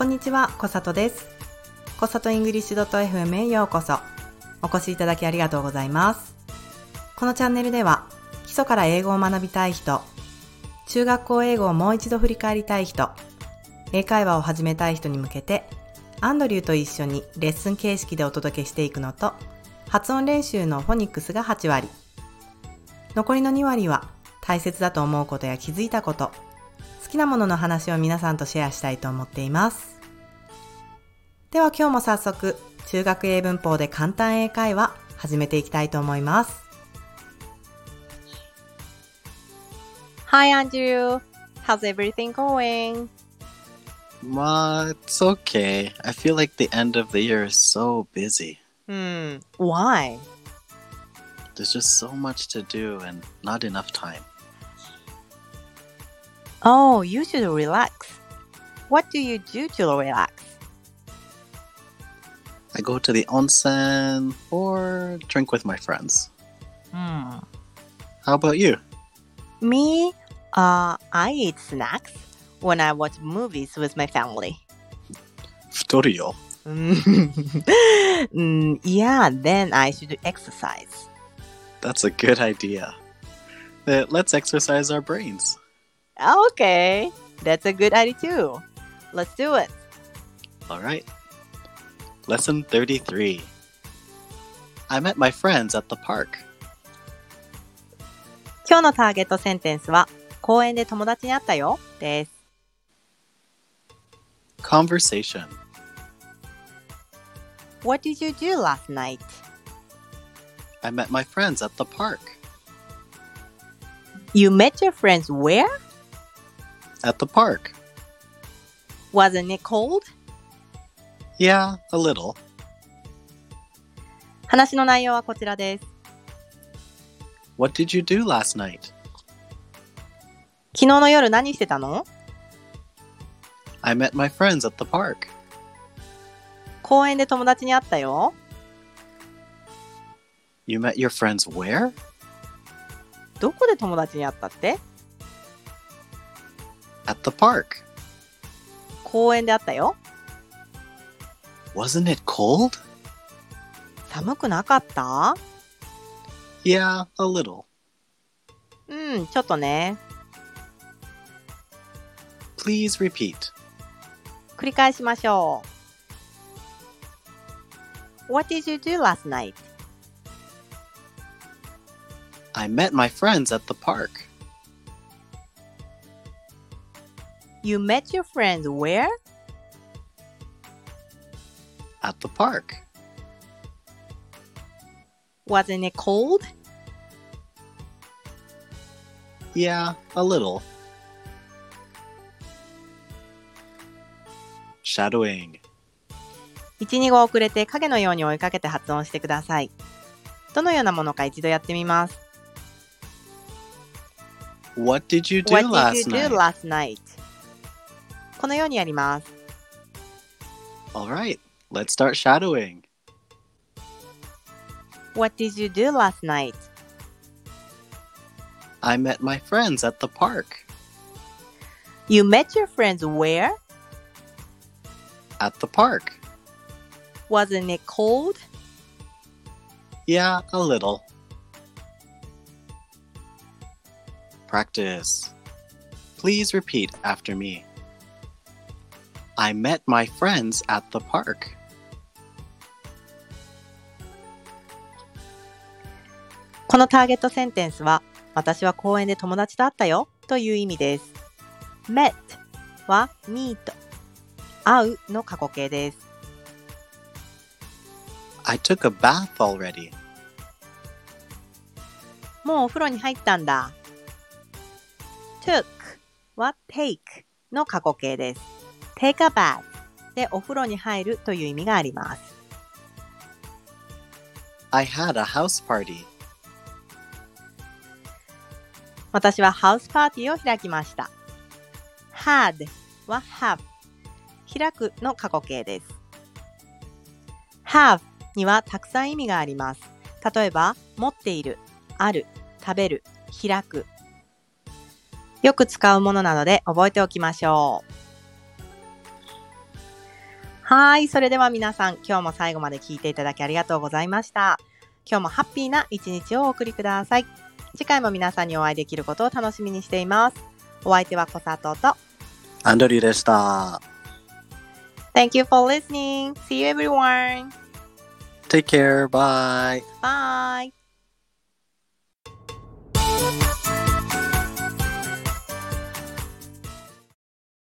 こんにちは、こさとです。こさとイングリッシュ .fm へようこそ。お越しいただきありがとうございます。このチャンネルでは、基礎から英語を学びたい人、中学校英語をもう一度振り返りたい人、英会話を始めたい人に向けて、アンドリューと一緒にレッスン形式でお届けしていくのと、発音練習のフォニックスが8割。残りの2割は、大切だと思うことや気づいたこと、好きなものの話を皆さんとシェアしたいと思っています。では今日も早速、中学英文法で簡単英会話始めていきたいと思います。 Hi Andrew, how's everything going? It's okay. I feel like the end of the year is so busy. Why? There's just so much to do and not enough time. Oh, you should relax. What do you do to relax? I go to the onsen or drink with my friends. How about you? Me? I eat snacks when I watch movies with my family. 太るよ。 Yeah, then I should exercise. That's a good idea. Let's exercise our brains. Okay, that's a good idea too. Let's do it. All right. Lesson 33. I met my friends at the park. 今日のターゲットセンテンスは公園で友達に会ったよです。 Conversation. What did you do last night? I met my friends at the park. You met your friends where? At the park. Wasn't it cold? Yeah, a little. 話の内容はこちらです。 What did you do last night? 昨日の夜何してたの？ I met my friends at the park. 公園で友達に会ったよ。 You met your friends where? どこで友達に会ったって？ At the park. 公園で会ったよ。 Wasn't it cold? 寒くなかった？ Yeah, a little. ちょっとね。 Please repeat. 繰り返しましょう。What did you do last night? I met my friends at the park. You met your friends where? At the park. Wasn't it cold? Yeah, a little. Shadowing. 1、2語遅れて影のように追いかけて発音してください。どのようなものか一度やってみます。 What did you do What last did you do night? last night? このようにやります。 All right, let's start shadowing. What did you do last night? I met my friends at the park. You met your friends where? At the park. Wasn't it cold? Yeah, a little. Practice. Please repeat after me. I met my friends at the park. このターゲットセンテンスは、私は公園で友達と会ったよという意味です。met は meet 会うの過去形です。 I took a bath already. もうお風呂に入ったんだ。took は take の過去形です。take a bath でお風呂に入るという意味があります。 I had a house party. 私はハウスパーティーを開きました。had は have 開くの過去形です。have にはたくさん意味があります。例えば、持っている、ある、食べる、開く。よく使うものなので覚えておきましょう。 はい、それでは皆さん、今日も最後まで聞いていただきありがとうございました。今日もハッピーな一日をお送りください。次回も皆さんにお会いできることを楽しみにしています。お相手は小里とアンドリューでした。 Thank you for listening. See you everyone. Take care. Bye. Bye.